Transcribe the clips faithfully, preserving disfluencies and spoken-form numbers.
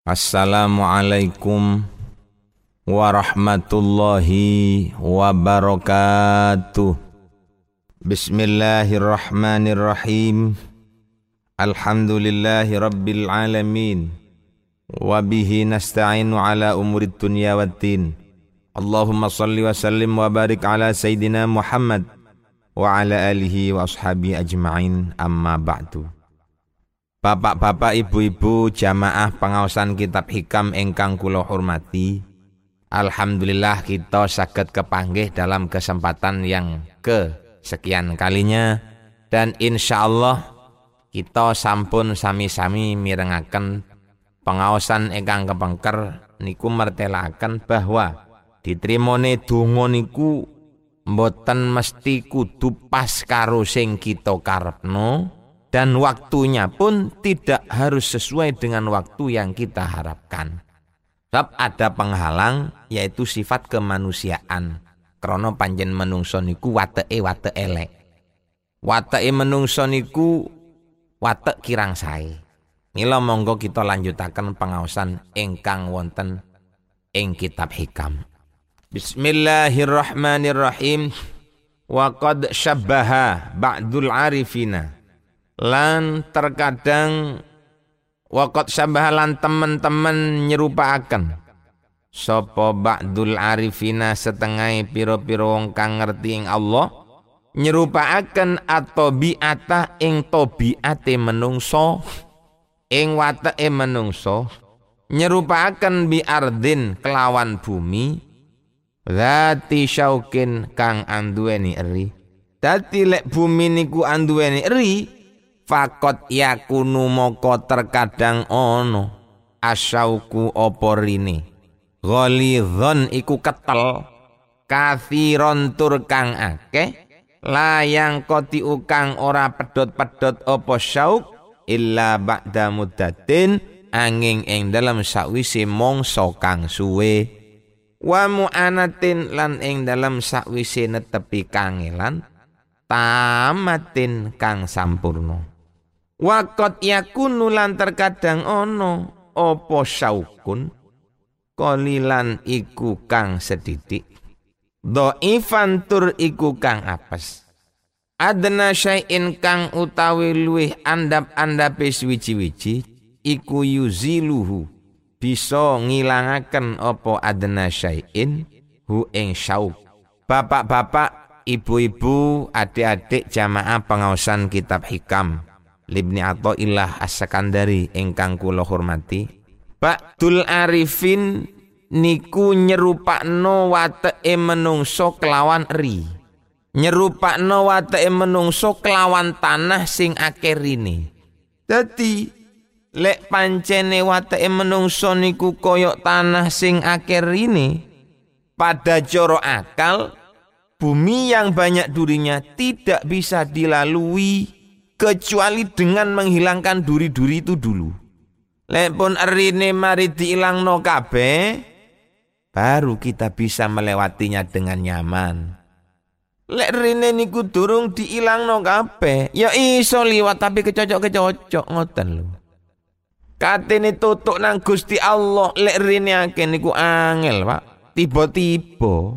Assalamualaikum warahmatullahi wabarakatuh. Bismillahirrahmanirrahim. Alhamdulillahi rabbil alamin. Wabihi nasta'inu ala umurid dunya waddin. Allahumma salli wa sallim wa barik ala Sayyidina Muhammad wa ala alihi wa ashabihi ajma'in, amma ba'du. Bapak-bapak, ibu-ibu, jamaah pengaosan kitab hikam ingkang kula hormati, alhamdulillah kita saged kepanggih dalam kesempatan yang kesekian kalinya, dan insyaallah kita sampun sami-sami mirengaken pengaosan ingkang kepengker niku mertelaken bahwa ditrimone donga niku mboten mesti kudu pas karo sing kita karepno, dan waktunya pun tidak harus sesuai dengan waktu yang kita harapkan. Sebab ada penghalang, yaitu sifat kemanusiaan. Krana panjen menungso niku wateke watek elek. Wateke menungso niku watek kirang sae. Mila monggo kita lanjutaken pengaosan ingkang wonten ing kitab hikam. Bismillahirrahmanirrahim. Wa qad syabbaha ba'dul arifina. Lan terkadang waqat syabah lan teman-teman nyerupaaken sapa ba'dul arifina setengah piro-piro wong kang ngerti ing Allah nyerupaaken at-tabi'ata ing tabiate menungso ing wateke menungso nyerupaaken bi ardin kelawan bumi zati syaukin kang anduweni eri. Dadi lek bumi niku anduweni eri, fakot yakunu moko terkadang ono asyauku oporine ghalidhon iku ketel kathiron tur kang akeh layang koti ukang ora pedot-pedot opo syauk illa ba'da muddatin angin ing dalam sakwise mangsa kang suwe wa mu'anatin lan ing dalam sakwise netepi kangelan tamatin kang sampurno. Wakot yakunu lan terkadang ono opo syaukun kolilan iku kang sedidik dhaifan tur iku kang apes adna syai'in kang utawi luwih andap-andape wiji-wiji iku yuziluhu bisa ngilangaken opo adna syai'in hu ing syauk. Bapak-bapak, ibu-ibu, adik-adik jamaah pengaosan kitab hikam Libni Athaillah As-Sakandari ingkang kula hormati, ba'dul arifin niku nyerupakno wateke menungso kelawan eri. Nyerupakno wateke menungso kelawan tanah sing akeh rine. Dadi lek pancene wateke menungso niku koyok tanah sing akeh rine, pada coro akal bumi yang banyak durinya tidak bisa dilalui kecuali dengan menghilangkan duri-duri itu dulu. Lek pun erine mari diilangno kabeh, baru kita bisa melewatinya dengan nyaman. Lek erine niku durung diilangno kabeh, ya iso liwat tapi kecocok-kecocok ngoten lho. Katene tutuk nang Gusti Allah, lek erine akeh niku angel, Pak. Tiba-tiba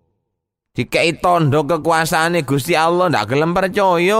dikai tondo kekuasaane Gusti Allah ndak gelem percaya.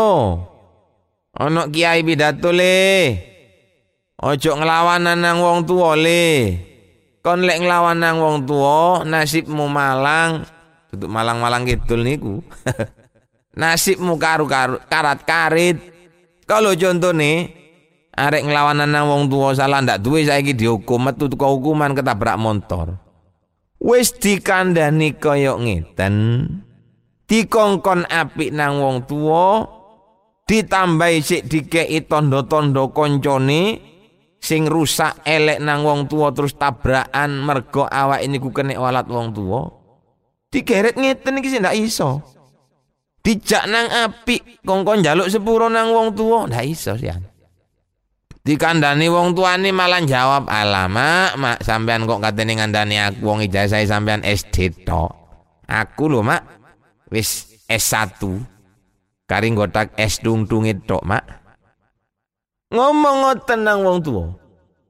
Ono kiai pidato le, ojo nglawanan nang wong tuwa le. Kon lek nglawan nang wong tuwa, nasibmu malang. Tutuk malang-malang kidul niku. Nasibmu karu-karu karat-karit. Kalau contone arek nglawanan nang wong tuwa salah ndak duwe saiki dihukum metu teko hukuman ketabrak motor. Wis dikandhani kaya ngeten. Dikongkon apik nang wong tuwa, ditambahi sik dikei tondo-tondo koncone sing rusak elek nang wong tuwa terus tabrakan mergo awak ini ku kena walat wong tuwa. Digeret ngeten iki sing ndak iso. Dijak nang apik kongkon njaluk sepuro nang wong tuwa ndak iso sian. Dikandani wong tuane malah jawab, "Alamak, mak sampean kok katene ngandani aku wong ijazah sampean S D tok. Aku lho, mak, wis S satu. Kari nggotak es dung-dungit tok, mak." Ngomong ngoten nang wong tuwa.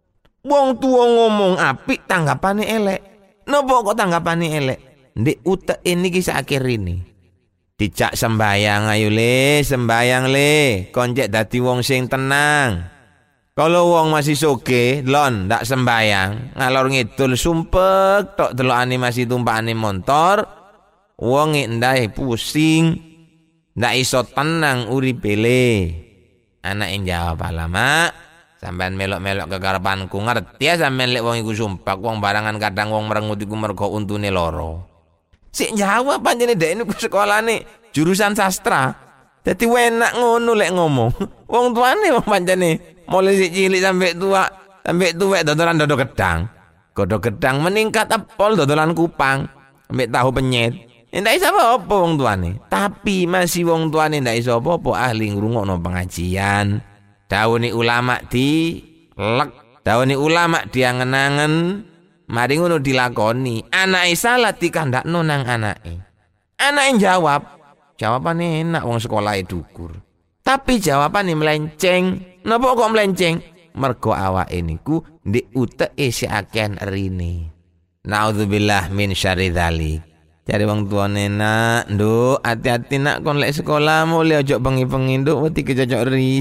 Wong tuwa ngomong apik tanggapane elek. Napa kok tanggapane elek? Ndek utek ini kisah akhir ini. Dijak sembayang ayo le, sembayang le. Konjek dadi wong sing tenang. Kalau wong masih soge, lon ndak sembayang, ngalor ngidul sumpek tok delokane masih tumpakane motor. Wong ndai pusing, ndak iso tenang uripe le. Anak yang jawab alamak. Sampean melok-melok kekarepanku ngerti ya sampean lek wong iku sumpah wong barangan kadang wong merengut iku mergo untune loro. Sik jawab panjene dek niku sekolahane jurusan sastra. Dadi enak ngono lek ngomong. Wong tuane wong pancene mulai sik cilik sampai tua, sampai tuwek dodolan dodo gedang. Godho gedang meningkat apol dodolan kupang, sampai tahu penyet. Ndak iso apa-apa wong tuane. Tapi masih wong tuane ndak iso apa-apa ahli ngrungokno pengajian. Dauni ulama di lek, dauni ulama diangen-angen, mari ngono dilakoni. Anake salah dikandakno nang anake. Anake jawab, jawabane enak wong sekolahe dukur. Tapi jawabane melenceng. Napa kok melenceng? Mergo awake niku ndek uteke si akehan rine. Naudzubillah min syarri dzalik. Cari wong tuane nak, nduk, hati-hati nak kon lek sekolah mulai ojo bengi-bengi nduk wedi kecocok ri.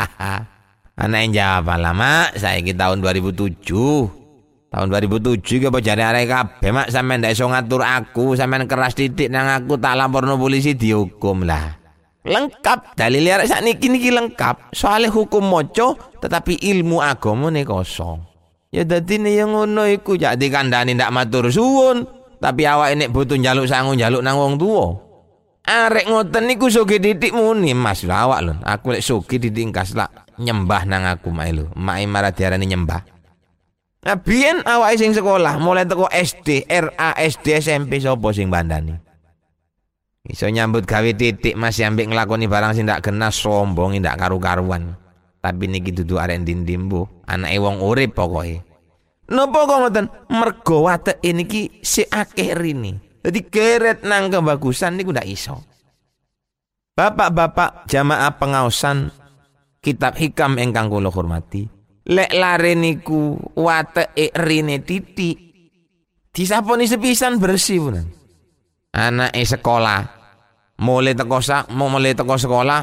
Anak yang jawab alamak, saiki tahun dua ribu tujuh. Tahun dua ribu tujuh iki apa jare arek kabeh mak sampean ndak iso ngatur aku, sampean keras titik nang aku tak laporno polisi dihukum lah. Lengkap dalil arek sakniki niki lengkap. Soale hukum moco tetapi ilmu agamane kosong. Ya dadine yang ngono iku jak dikandani ndak matur suwun. Tapi awake nek butuh njaluk sangu njaluk nang wong tuwa. Arek ngoten niku soge didik muni, Mas lho awak lho. Aku lek soge didik kas lak nyembah nang aku mae lho. Mae marah diarani nyembah. Nah biyen awake sing sekolah mulai teko S D, R A, S D, S M P sapa sing bandani? Iso nyambut gawe titik masih ambek nglakoni barang sing ndak kena sombong ndak karu-karuan. Tapi niki dudu arek ndim-ndim bu, anake wong urip pokoke. Napa kok ngoten? Mergo wateke niki si akeh rene. Dadi geret nang kebagusan niku ndak iso. Bapak-bapak jamaah pengaosan kitab hikam ingkang kula hormati, lek lare niku wateke rene titik disaponi sepisan bersih punan. Anake sekolah mulai teko sak mulai teko sekolah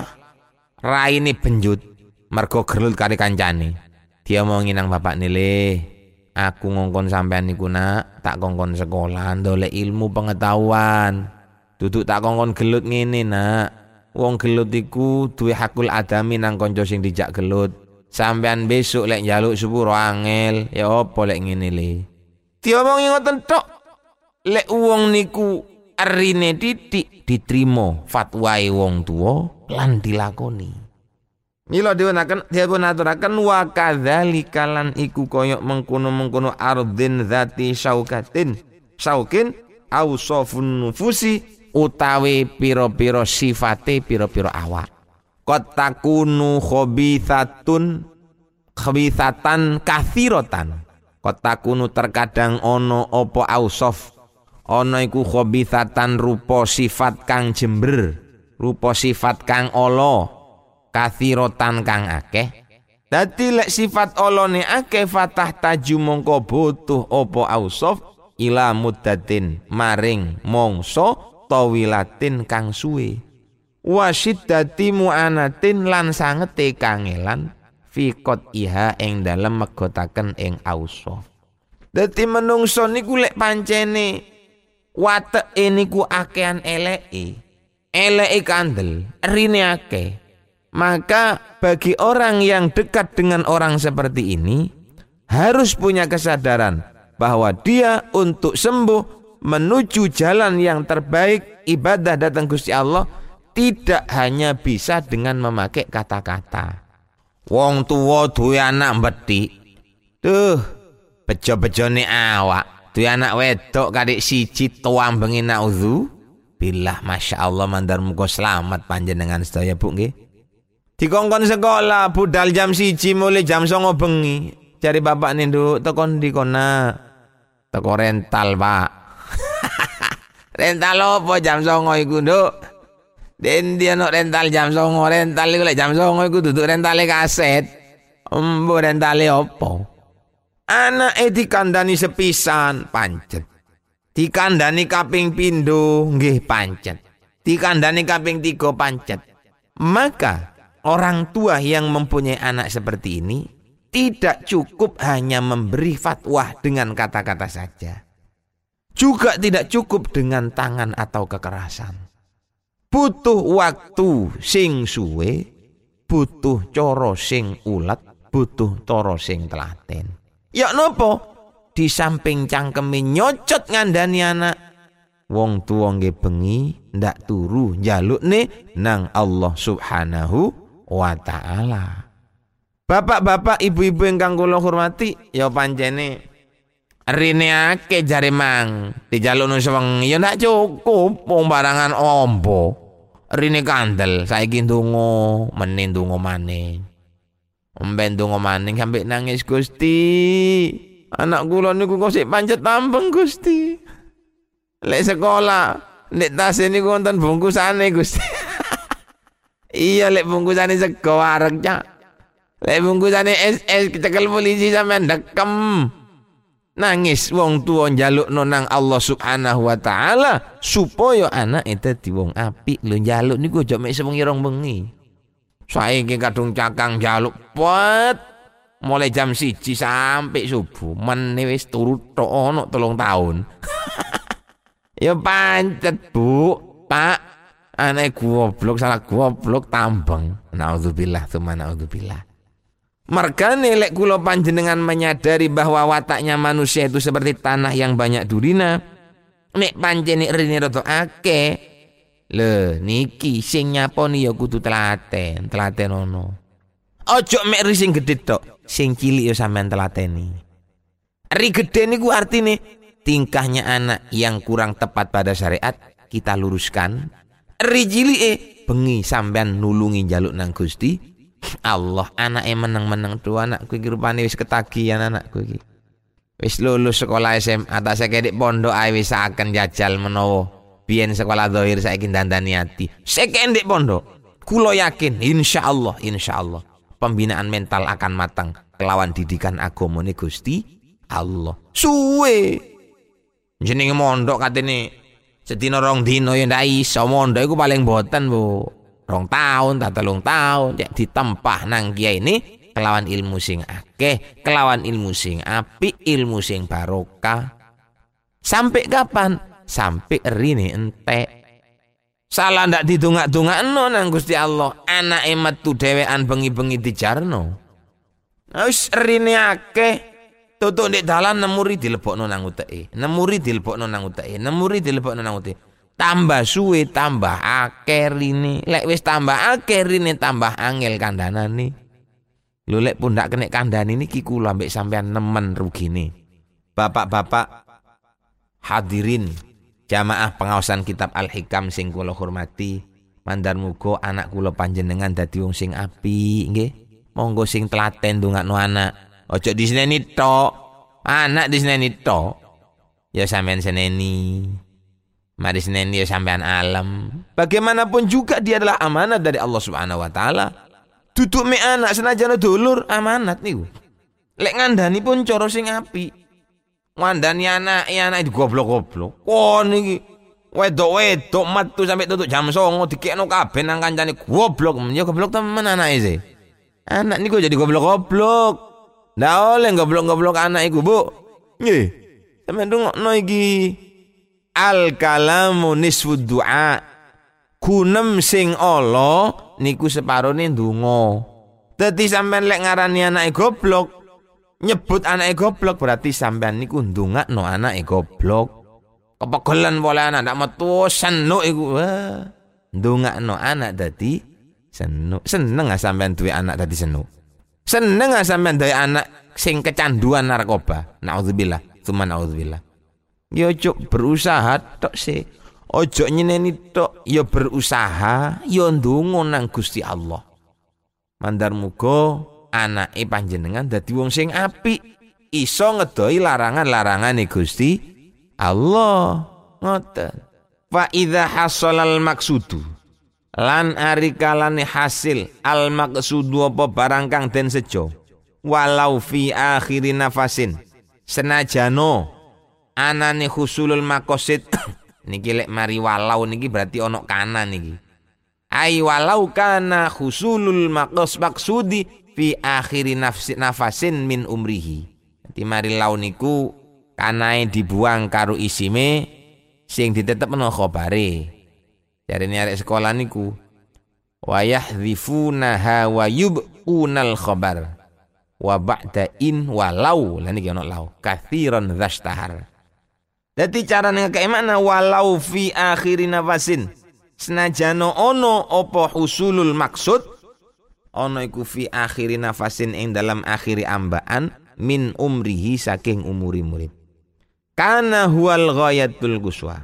raine benjut mergo gelut karo kancane. Dia mau nginang bapak nile. Aku ngongkon sampean niku nak, tak kongkon sekolah ndolek ilmu pengetahuan. Duduk tak kongkon gelut ngene nak. Wong gelut iku duwe hakul adami nang kanca sing dijak gelut. Sampean besok lek njaluk sepuro angel, ya apa lek ngene le. Diomongi ngoten tok. Lek wong niku arine titik diterima fatwae wong tuwa lan dilakoni. Mila diunaken dipun aturaken wa kadzalika lan iku koyok mengkono-mengkono ardin zati syaukatin syaukin ausofun nufusi utawi pira-pira sifate pira-pira awak. Qad takunu khabithatun khabithatan kathiratan. Qad takunu terkadang ono apa ausof ono iku khabithatan rupa sifat kang jember, rupa sifat kang ala. Kathirotan kang akeh. Dadi lek sifat olone akeh fatah taju mongko butuh opo ausof ila muddatin maring mongso tawilatin kang suwe. Wasiddati mu'anatin lan sangete kangelan fikot iha ing dalem megotaken ing ausof. Dadi menungso niku lek pancene wateke niku akehan eleke. Eleke kandel, rine akeh. Maka bagi orang yang dekat dengan orang seperti ini harus punya kesadaran bahwa dia untuk sembuh menuju jalan yang terbaik ibadah datang Gusti Allah tidak hanya bisa dengan memakai kata-kata. Wong tuwa duwe anak mbethik. Duh, bejo-bejone awak. Duwe anak wedok kadik siji tuwang bengi naudzu. Billah masyaallah mandar muga selamat panjenengan sedaya Bu nggih. Dikongkon sekolah budal jam siji mulai jam songo bengi. Cari bapak nih nduk tekon di kona. Teko rental pak. Rental apa jam songo iku nduk? Den dia no rental jam songo rental iku lek jam songo iku duduk rentale kaset. Embo rentale apa? Anake dikandani sepisan pancet. Dikandani kaping pindho nggih pancet. Dikandani kaping tiga pancet. Maka orang tua yang mempunyai anak seperti ini tidak cukup hanya memberi fatwa dengan kata-kata saja. Juga tidak cukup dengan tangan atau kekerasan. Butuh waktu sing suwe, butuh cara sing ulet, butuh cara sing telaten. Ya nopo? Di samping cangkeme nyocot ngandani anak, wong tuwa nggih bengi ndak turu njalukne nang Allah Subhanahu wa taala. Bapak-bapak, ibu-ibu ingkang kula hormati, ya pancene rene akeh jare mang dijalukno sewengi ya ndak cukup wong barangan ombo. Rene kandel saiki ndonga, meneh ndonga maneh. Omben ndonga maneh sampe nangis, Gusti. Anak kula niku kok sik pancet tampeng, Gusti. Lek sekolah, nek tas niku wonten bungkusane, Gusti. Iya, lek bungkusane sego arek, Cak. Lek bungkusane es es kecekel polisi sampean dekem. Nangis wong tuwa njalukno nang Allah Subhanahu wa taala supaya anake dadi wong apik. Lho njaluk niku aja mek sewengi rong bengi. Saiki kadung cakang njaluk pet mulai jam siji sampai subuh, meneh wis turu tok ono telung tahun. Ya pancet, Bu, Pak. Anak goblok salah goblok tambeng. Nauzubillah tsumma naudzubillah. Mergane lek kula panjenengan menyadari bahwa wataknya manusia itu seperti tanah yang banyak durina, nek pancene rene rada akeh, lho niki sing nyaponi ya kudu telaten, telaten ono. Ojo mek ri sing gedhe tok, sing cilik ya sampean telateni. Ri gedhe niku artine tingkahnya anak yang kurang tepat pada syariat kita luruskan. Ri cilike bengi sampean nulungi njaluk nang Gusti Allah. Anake meneng-meneng tuwa, anakku iki rupane wis ketagihan anakku iki. Wis lulus sekolah S M A, tak sekedhik pondok ae wis akan jajal menawa biyen sekolah zahir saiki dandani ati. Sekedhik pondok. Kula yakin insyaallah insyaallah pembinaan mental akan matang kelawan didikan agamane Gusti Allah. Suwe jenenge mondok katene sedina rong dina ya ndak iso. Mondok iku paling boten, Bu. Rong tahun, tak telung tahun ya ditempah nang kiai ini kelawan ilmu sing akeh, kelawan ilmu sing apik, ilmu sing barokah. Sampai kapan? Sampai rine entek. Salah ndak didongak-dongakno nang Gusti Allah. Anake metu dhewean bengi-bengi dijarno. Wis rine akeh. Tutuk ndek dalan nemuri dilebokno nang uteke. Nemuri dilebokno nang uteke. Nemuri dilebokno nang uteke. Tambah suwe tambah akeh rine. Lek wis tambah akeh rine tambah angel kandhanane. Lho lek pundak kenek kandhani niki kula mbek sampean nemen rugine. Bapak-bapak hadirin jamaah pengaosan kitab Al-Hikam sing kula hormati, mandar muga anak kula panjenengan dadi wong sing apik nggih. Monggo sing telaten ndongakno anak. Ojo diseneni tok. Anak diseneni tok. Ya sampean seneni. Mari seneni ya sampean alam. Bagaimanapun juga dia adalah amanat dari Allah Subhanahu wa taala. Duduk me anak senajan dulur amanat niku. Lek ngandani pun cara sing apik. Ngandani anak ya anak goblok-goblok. Kon iki wedok-wedok metu sampai tutuk jam songo dikekno kabeh nang kancane goblok. Ya goblok temen anake sih. Anak niku jadi goblok-goblok. Ndak oleh goblok-goblok anak iku, Bu. Nggih. Sampeyan ndongakno iki. Al-kalamu nisfud du'a. Gunem sing ala niku separone ndonga. Dadi sampean lek ngarani anake goblok, nyebut anake goblok berarti sampean niku ndongakno anake goblok. Kepegelan pole anak ndak metu senuk iku. Wah, ndongakno anak dadi senuk. Seneng ah sampean duwe anak dadi senuk. Seneng ah sampean duwe anak sing kecanduan narkoba. Nauzubillah, tsumma nauzubillah. Ya ojo berusaha tok sih. Ojo nyeneni tok, ya berusaha, ya ndonga nang Gusti Allah. Mandar muga anake panjenengan dadi wong sing apik, iso ngedoi larangan-larangane Gusti Allah. Ngoten. Fa idza hasalal maqsudu. Lan ari kalane hasil al maqsudu apa barang kang den sejo. walau fi akhiri nafasin senajano anane husulul maqasid niki lek mari walau niki berarti ono kana niki ai walau kana husulul maqas maksudi fi akhiri nafsi nafasin min umrihi. Dadi mari lau niku kanae dibuang karo isime sing ditetepno khabare. Jarene arek sekolah niku wa yahdhifunaha wa yub'unal khabar wa ba'da in walau lan iki ono lau kathiran dzastahar. Dadi carane ngekek makna walau fi akhiri nafasin senajano ono apa husulul maksud ono iku fi akhiri nafasin ing dalam akhiri ambaan min umrihi saking umuri murid. Kana huwal ghayatul quswa.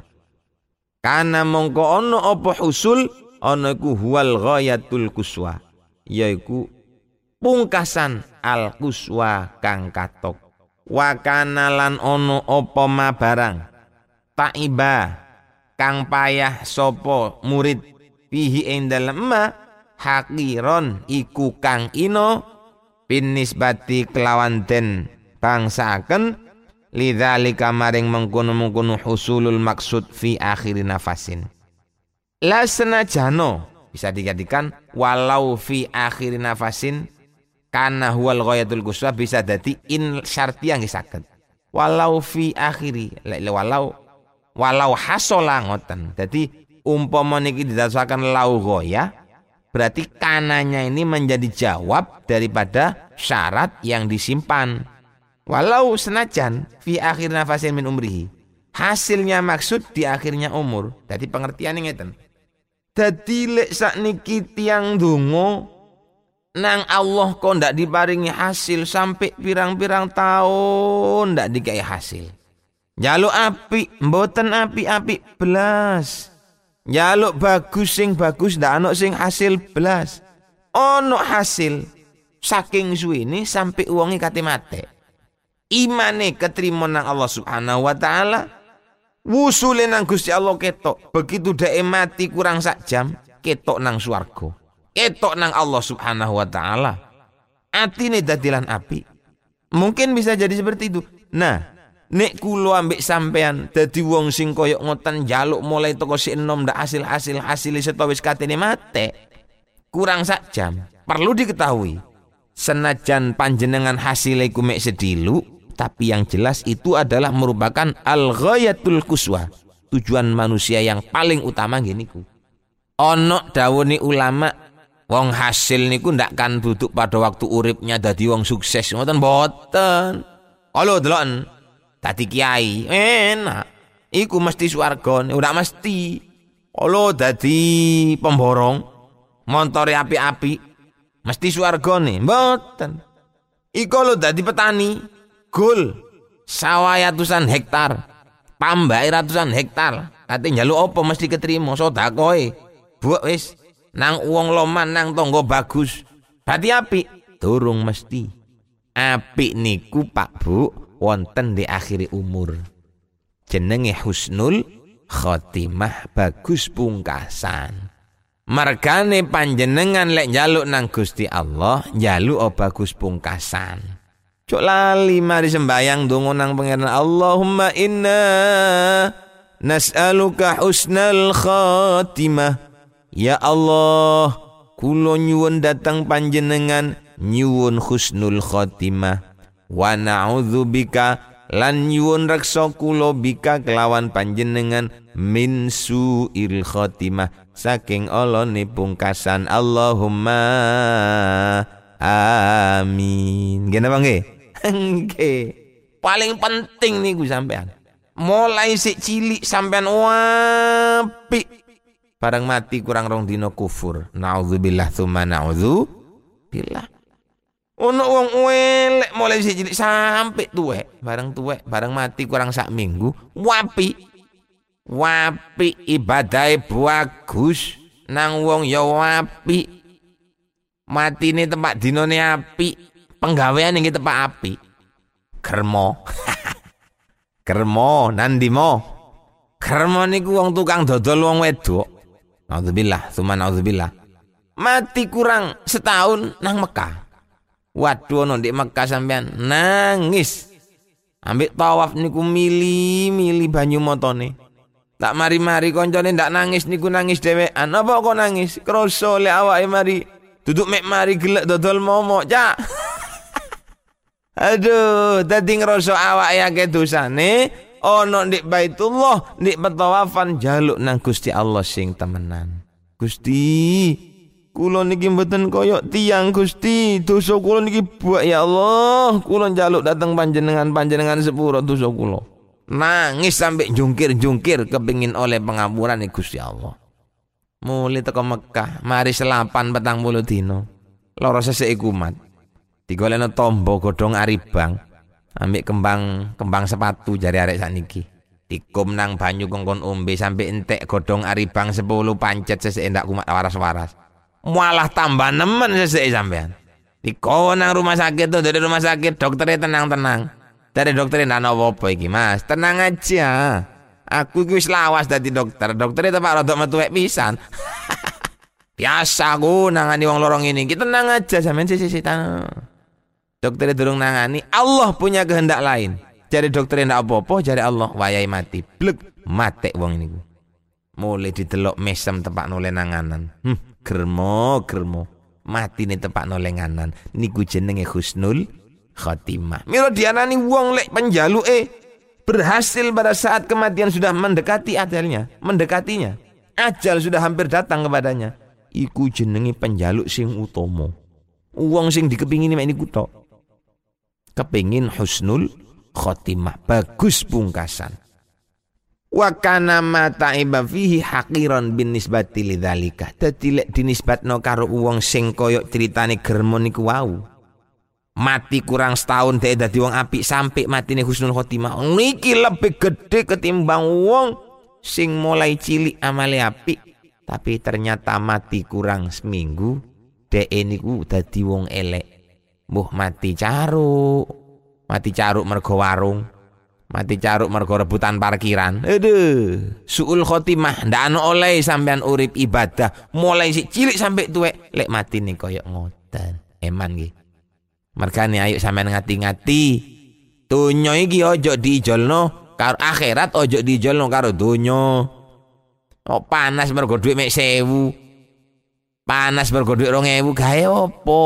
Kana mongko ono apa husul ono iku huwal ghayatul quswa. Yaiku pungkasan al quswa kang katok. Wa kana lan ono apa ma barang taiba kang payah sopo murid fihi ing dalem ma hakiron iku kang ino binisbati kelawan den bangsaaken lidzalika maring mengkono-mengkono husulul maksud fi akhiri nafasin. La senajano bisa dijadikan walau fi akhiri nafasin kana huwal ghayatul quswa bisa dadi in syartiyah nggih saged. Walau fi akhiri walau walau hasola ngoten. Dadi umpama niki didasarkan lau ghaya berarti kananya ini menjadi jawab daripada syarat yang disimpan. Walau senajan fi akhir nafasin min umrihi. Hasilnya maksud di akhirnya umur. Dadi pengertiane ngeten. Dadi lek sakniki tiyang donga nang Allah kok ndak diparingi hasil sampai pirang-pirang tahun ndak dikai hasil. Njaluk apik mboten apik-apik belas. Njaluk bagus sing bagus ndak ana sing hasil belas. Ono hasil saking suwene sampai uange kate mate. Imane ketrima nang Allah Subhanahu wa taala. Wusule nang Gusti Allah ketok. Begitu dhek mati kurang sak jam ketok nang swarga. Ketok nang Allah Subhanahu wa taala. Atine dadilan api. Mungkin bisa jadi seperti itu. Nah, nek kula ambek sampean dadi wong sing koyok ngoten njaluk mulai toko si enom ndak hasil-hasil hasil setawis katene mate. Kurang sak jam. Perlu diketahui. Senajan panjenengan hasilnya iku mek sedilu, tapi yang jelas itu adalah merupakan al-ghayatul quswa. Tujuan manusia yang paling utama ngene iku. Ono dawuhne ulama wong hasil niku ndak kan duduk pada waktu uripnya dadi wong sukses ngoten mboten. Kalau deloken dadi kiai enak iku mesti swarga ora mesti. Kalau dadi pemborong montore api-api mesti swargane mboten. Iku lho dadi petani gol sawah ratusan hektar pambake ratusan hektar kate njaluk apa mesti ketrima sedakoe buak wis nang uang loman nang tonggo bagus. Berarti apik? Durung mesti. Apik niku Pak Bu wonten di akhiri umur. Jenenge husnul khotimah bagus pungkasan. Margane panjenengan lek njaluk nang Gusti Allah, njaluk bagus pungkasan. Cok lali mari sembayang donga nang pangeran Allahumma inna nas'aluka husnal khotimah. Ya Allah, kula nyuwun datang panjenengan nyuwun husnul khotimah. Wa na'udzubika lan nyuwun reksa kula bika kelawan panjenengan min su'il khotimah saking olone pungkasan. Allahumma amin. Nggih napa nggih? Nggih. Paling penting niku sampean. Mulai sik cilik sampean apik. Barang mati kurang rong dino kufur. Na'udzubillah tsumma na'udzubillah. Ono wong elek mulai sik cilik sampai tuwek. Barang tuwek, barang mati kurang sak minggu, wapi. Wapi ibadahe bagus. Nang wong ya wapi. Matine tempat dinone api, penggawean iki tempat api. Kermo. Kermo nandimo. Kermo niku wong tukang dodol wong wedok. Na'udzubillah, tsumma na'udzubillah. Mati kurang setahun nang Mekah. Waduh ono ndek Mekah sampean nangis. Ambek tawaf niku mili-mili banyu motone. Tak mari-mari koncone ndak nangis niku nangis dhewean. Apa kok nangis? Kroso lek awake mari duduk mek mari gelek dodol momok, Cak. Aduh, dadi ngrasa awake akeh dosane ono ndek Baitullah, ndek petawafan jaluk nang Gusti Allah sing temenan. Gusti, kula niki mboten koyok tiyang Gusti, dosa kula niki buak ya Allah. Kula njaluk dateng panjenengan, panjenengan sepuro dosa kula. Nangis sampai jungkir-jungkir kepingin oleh pengampuran nih Gusti Allah. Mulai teko Mekah, mari selapan petang puluh dino. Loro sesek kumat. Digolekno tombo godhong aribang, ambek kembang kembang sepatu jari arek sakniki. Dikum nang banyu kongkon ombe sampai entek godhong aribang sepuluh pancet sesek ndak kumat waras-waras. Malah tambah nemen sesek sampean. Dikon nang rumah sakit tuh, dari rumah sakit dokternya tenang-tenang. Dari dokter ndak apa-apa iki, Mas. Tenang aja. Aku iki wis lawas dadi dokter. Dokternya tepak rodok metu wek pisan. Biasa aku nangani wong lorong ini. Kita tenang aja sampean sisi tanah. Dokternya durung nangani, Allah punya kehendak lain. Jare dokternya ndak apa-apa, jare Allah wayahe mati. Blek, mate wong niku. Mulai didelok mesem tepak nole nanganan. Hm, germo, germo. Mati nih tepak nole nganan. Niku jenenge husnul khotimah. Mira dianani wong lek penjaluke berhasil pada saat kematian sudah mendekati ajalnya, mendekatinya. Ajal sudah hampir datang kepadanya. Iku jenenge penjaluk sing utama. Wong sing dikepingini mek niku tok. Kepingin husnul khotimah, bagus pungkasan. Wa kana ma ta'iba fihi haqiran bin nisbati lidzalika. Dadi lek dinisbatno karo wong sing koyok critane germo niku wau. Mati kurang setahun dek dadi wong apik sampai matine husnul khotimah. Niki lebih gede ketimbang wong sing mulai cilik amale apik tapi ternyata mati kurang seminggu dek niku dadi wong elek. Mbuh mati caruk. Mati caruk mergo warung. Mati caruk mergo rebutan parkiran. Aduh, suul khotimah ndak ana oleh sampean urip ibadah mulai sik cilik sampai tuwek lek matine koyok ngoten. Eman nggih. Mergane ayo sampean ngati-ngati. Donya iki ojo diijolno karo akhirat, ojo diijolno karo donya. Oh panas mergo dhuwit mek sewu. Panas mergo dhuwit rong ewu gawe opo?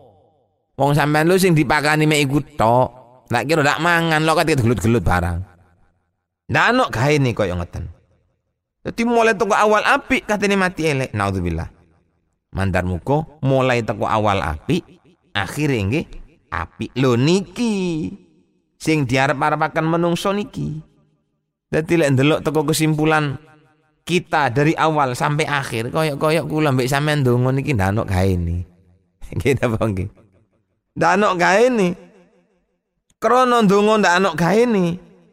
Wong sampean lu sing dipakani mek iku tok. Nek kira ndak mangan lo ket gelut-gelut barang. Ndak ono gawe nih koyo ngoten. Dadi mulai teko awal apik katene mati elek. Naudzubillah. Mandar muko mulai teko awal apik, akhire nggih apik lho niki sing diarep-arepaken menungso niki. Dadi lek ndelok teko kesimpulan kita dari awal sampai akhir koyok-koyok kula mbek sampean ndonga niki ndak ono gaene. Nggih napa nggih? Ndak ono gaene. Krana ndonga ndak ono gaene.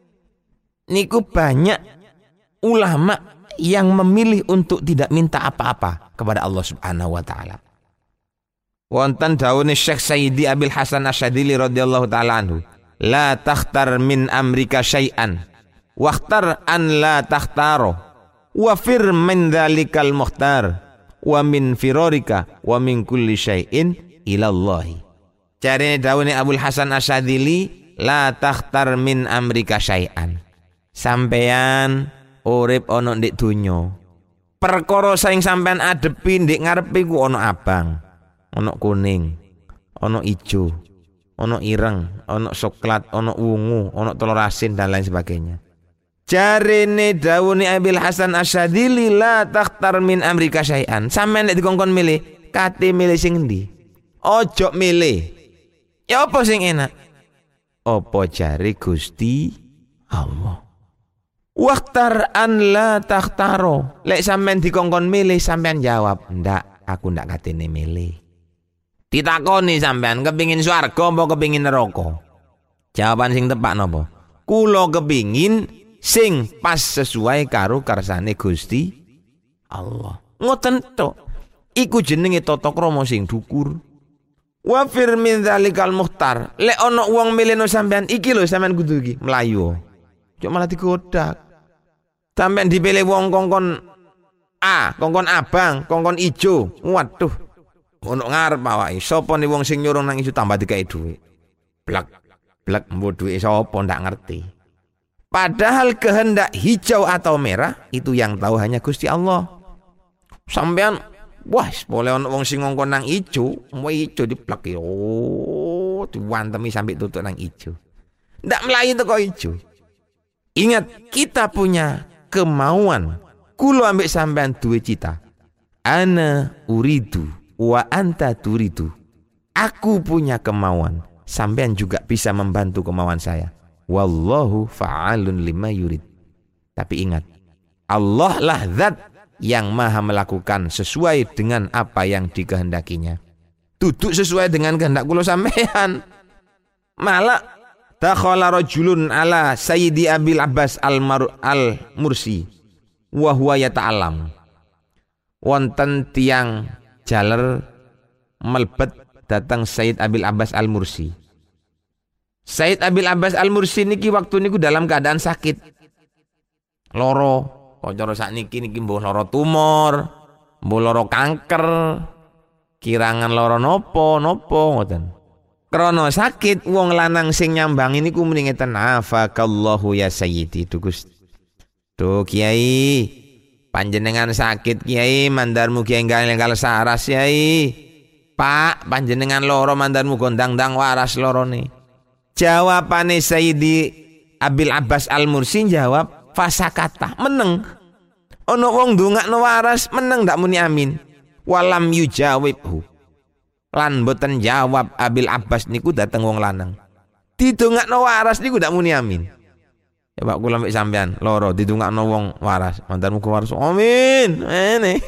Niku banyak ulama yang memilih untuk tidak minta apa-apa kepada Allah Subhanahu wa taala. Wonten dawuhe Syekh Sayyidi Abil Hasan Asyadzili radhiyallahu taala anhu, la takhtar min amrika syai'an wakhtar an la takhtaro wa fir min dzalikal mukhtar wa min firarika wa min kulli syai'in ila Allah. Carane dawuhe Abul Hasan Asyadzili, la takhtar min amrika syai'an. Sampean urip ana ndek donya. Perkara sing sampean adepi ndek ngarepe ku ana abang. Ono kuning, ono ijo, ono ireng, ono coklat, ono ungu, ono telur asin dan lain sebagainya. Jarene dawuhe Abil Hasan Asyadzili, la takhtar min amrika syai'an. Sampeyan nek dikongkon milih, kate milih sing endi? Ojo milih. Ya apa sing enak? Apa jare Gusti Allah? Wakhtar an la takhtaro. Lek sampeyan dikongkon milih, sampeyan jawab, ndak, aku ndak katene milih. Ditakoni sampean kepingin swarga apa kepingin neraka? Jawaban sing tepak napa? Kula kepingin sing pas sesuai karo kersane Gusti Allah. Ngoten tok. Iku jenenge tata krama sing dhukur. Wa fir min dzalikal mukhtar. Lek ana wong milihno sampean iki lho sampean kudu iki mlayu. Cuk malah digodak. Sampean dipilih wong kongkon A, kongkon abang, kongkon ijo. Waduh. ono ngarep awake. Sapa ni wong sing nyuruh nang ijo tambah dikai dhuwit. Blek blek mbok dhuwit sapa ndak ngerti. Padahal kehendak hijau atau merah itu yang tahu hanya Gusti Allah. Sampean wah, boleh ono wong sing ngongkon nang ijo, mau ijo diplek oh, diwantemi sampai tutuk nang ijo. Ndak melayu teko ijo. Ingat, kita punya kemauan. Kulo ambek sampean duwe cita. Ana uridu wa anta turidu. Aku punya kemauan, sampean juga bisa membantu kemauan saya. Wallahu fa'alun lima yurid. Tapi ingat, Allah lah zat yang maha melakukan sesuai dengan apa yang dikehendakinya. Duduk sesuai dengan kehendak kulo sampean. Malah dakhala rajulun ala Sayyidi Abil Abbas al-Mursi wa huwa yata'allam. Wonten tiang jaler melbet datang Sayyid Abil Abbas al-Mursi. Sayyid Abil Abbas al-Mursi niki waktu niku dalam keadaan sakit. Loro, kok cara sakniki niki mbuh lara tumor, mbuh lara kanker, kirangan lara nopo nopo ngoten. Krana sakit wong lanang sing nyambangi niku muni ngeten, afakallahu ya sayyidi dugus. Duh Kiai, panjenengan sakit Kiai, mandarmu Kiai enggal saras Kiai. Pak, panjenengan loro mandarmu gondang-dang waras lorone. Jawabane Sayyidi Abil Abbas al-Mursi jawab fasakata, meneng. Ono wong ndongakno waras meneng ndak muni amin. Walam yujawibhu. Lan boten jawab Abil Abbas niku dateng wong lanang. Didongakno waras niku ndak muni amin. Ya Pak kula mbek sampean loro didongakno wong waras, mantan muga waras. Amin. Ene.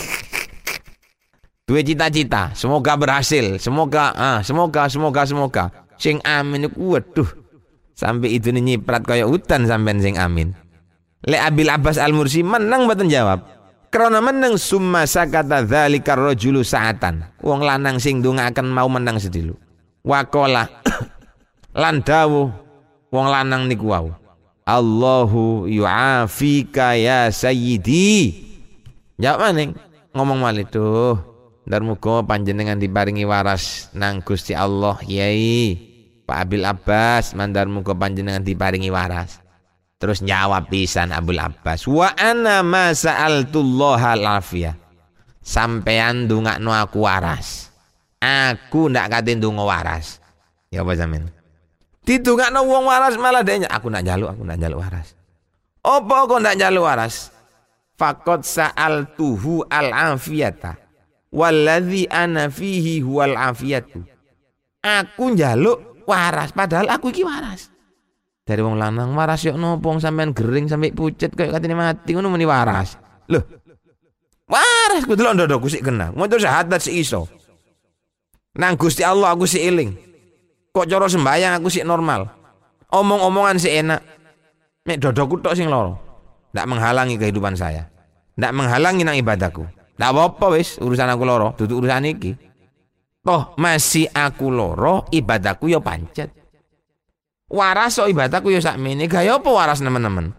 Duwe cita-cita, semoga berhasil, semoga ah semoga semoga semoga. Sing amin niku waduh. Sampai itu nyiprat kaya hutan sampean sing amin. Le Abil Abbas al-Mursi menang mboten jawab. Krana menang summa sakata dzalikar rajulu sa'atan. Wong lanang sing ndongaaken mau menang sedilu. Waqala lan dawuh wong lanang niku wau. Allahu yu'afika ya sayyidi. Jawab maning ngomong malih tuh. Ndar muga panjenengan diparingi waras nang Gusti Allah Yai. Pak Abil Abbas mandar muga panjenengan diparingi waras. Terus jawab pisan Abul Abbas, wa ana ma sa'altullaha al-afiyah. Sampean ndongakno aku waras. Aku ndak kate ndonga waras. Ya apa sampean? Didongakno wong waras malah dene aku ndak njaluk, aku ndak njaluk waras. Apa kok ndak njaluk waras? Faqad sa'altuhu al-afiyata. Walladzi ana fihi huwal afiyatu. Aku njaluk waras padahal aku iki waras. Dari wong lanang waras yok nopo sampean gering sampai pucet kayak katene mati ngono muni waras. Loh. Waras ku delok ndodokku sik kena. Motor syahadat sik iso. Nang Gusti Allah aku sik eling. Kok cara sembayang aku sik normal. Omong-omongan sik enak. Nek dodokku tok sing loro. Ndak menghalangi kehidupan saya. Ndak menghalangi nang ibadahku. Ndak apa-apa wis urusan aku loro, dudu urusan iki. Toh masih aku loro, ibadahku ya pancet. Waras so ibadahku ya sakmene, gaya apa waras nemen-nemen.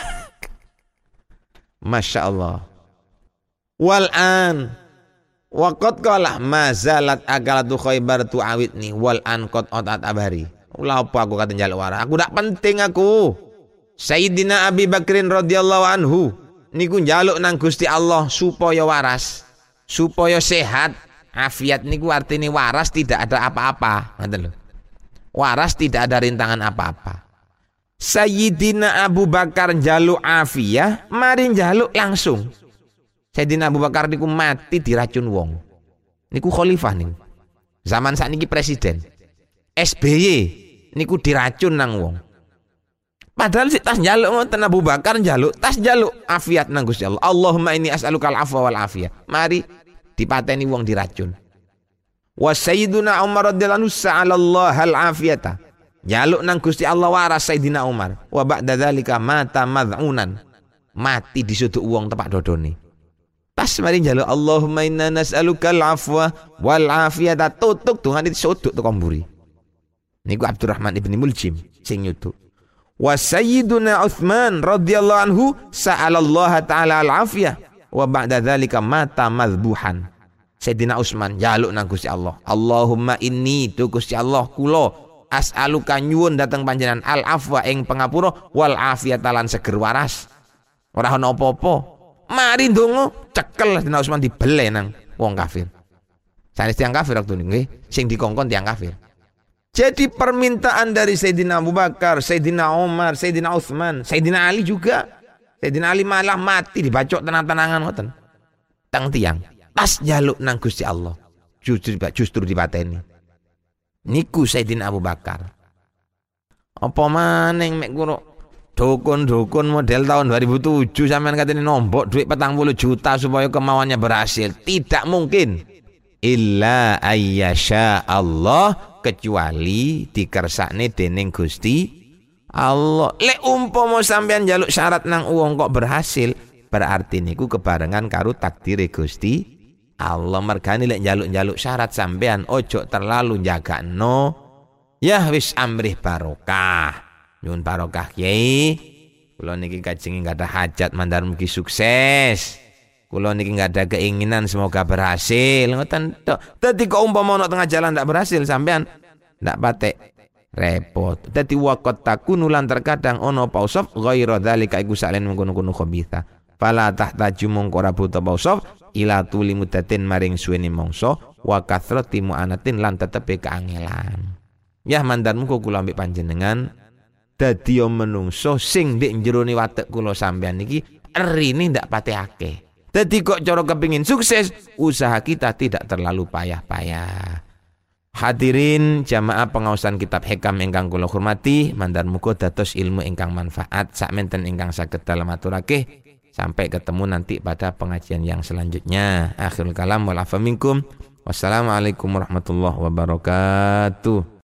Masya Allah. Wal'an waqad qala mazalat akalatu Khaybar tu'awidni wal'an qad otat abari. Ulah apa aku kata njaluk waras. Aku ndak penting aku. Sayyidina Abi Bakrin radhiyallahu anhu niku njaluk nang Gusti Allah supaya waras, supaya sehat. Afiat niku artine waras tidak ada apa-apa, ngoten lho. Waras tidak ada rintangan apa-apa. Sayyidina Abu Bakar njaluk afiyah, mari njaluk langsung. Sayyidina Abu Bakar niku mati diracun wong. Niku khalifah niku. Zaman sakniki presiden. S B Y niku diracun nang wong. Padahal si tas njaluk ngoten Abu Bakar njaluk, tas njaluk afiat nang Gusti Allah. Allahumma inni as'alukal afwa wal afiyah. Mari dipateni wong diracun. Wa sayyiduna Umar radhiyallahu anhu sa'alallahu al-afiyata. Njaluk nang Gusti Allah waras Sayyidina Umar. Wa ba'da dzalika mata mad'unan. Mati disuduk wong tepak dodone. Pas mari njaluk Allahumma inna nas'alukal afwa wal afiyata, tutuk dongane disuduk teko mburi. Niku Abdurrahman ibn Muljim sing nyuduk. Wa sayyiduna Utsman radhiyallahu anhu sa'alallaha ta'ala al-afiyah wa ba'da dzalika mata madbuhan. Sayyidina Utsman jaluk nang Gusti Allah. Allahumma inni tu Gusti Allah kula as'aluka nyuwun dateng panjenengan al afwa ing pangapura wal afiyata lan seger waras. Ora ana apa-apa. Mari ndonga cekel Sayyidina Utsman dibele nang wong kafir. Sanes tiyang kafir waktu nggih, sing dikongkon tiyang kafir. Jadi permintaan dari Sayyidina Abu Bakar, Sayyidina Umar, Sayyidina Utsman, Sayyidina Ali juga. Sayyidina Ali malah mati dibacok tenang-tenangan ngoten. Tang tiang pas jaluk nang Gusti Allah. Justru justru dipateni. Niku Sayyidina Abu Bakar. Apa maning mek kuro dukun-dukun model tahun dua ribu tujuh sampean katene nombok duit petang puluh juta supaya kemauannya berhasil. Tidak mungkin. Illa ayyasha Allah, kecuali dikersakne dening Gusti Allah. Lek umpama sampean njaluk syarat nang wong kok berhasil, berarti niku kebarengan karo takdire Gusti Allah. Mergane lek njaluk-njaluk syarat sampean ojo terlalu njagakno. Ya wis amrih barokah. Nyuwun barokah Kyai. Kula niki kajengi enggak ada hajat mandar mugi sukses. Kula niki enggak ada keinginan semoga berhasil. Ngoten tok. Dadi kok umpama ana tengah jalan ndak berhasil sampean ndak patek repot. Dadi waqat takunu lan terkadang ono pausaf ghaira dzalika iku salen mengkono-kono khabitha. Fala tahtaju mongko ora buta pausaf ila tuli muddatin maring suwene mangsa wa kathrati mu'anatin lan tetepe keangelan. Ya mandan muga kula ambek panjenengan dadi menungso sing ndek jerone watek kula sampean niki erine ndak pate akeh. Dadi kok cara kepingin sukses, usaha kita tidak terlalu payah-payah. Hadirin jamaah pengaosan kitab Hikam ingkang kula hormati, mandar muga dados ilmu ingkang manfaat sakmenten ingkang saged dalem aturake. Sampai ketemu nanti pada pengajian yang selanjutnya. Akhirul kalam wal afa minkum. Wassalamualaikum warahmatullahi wabarakatuh.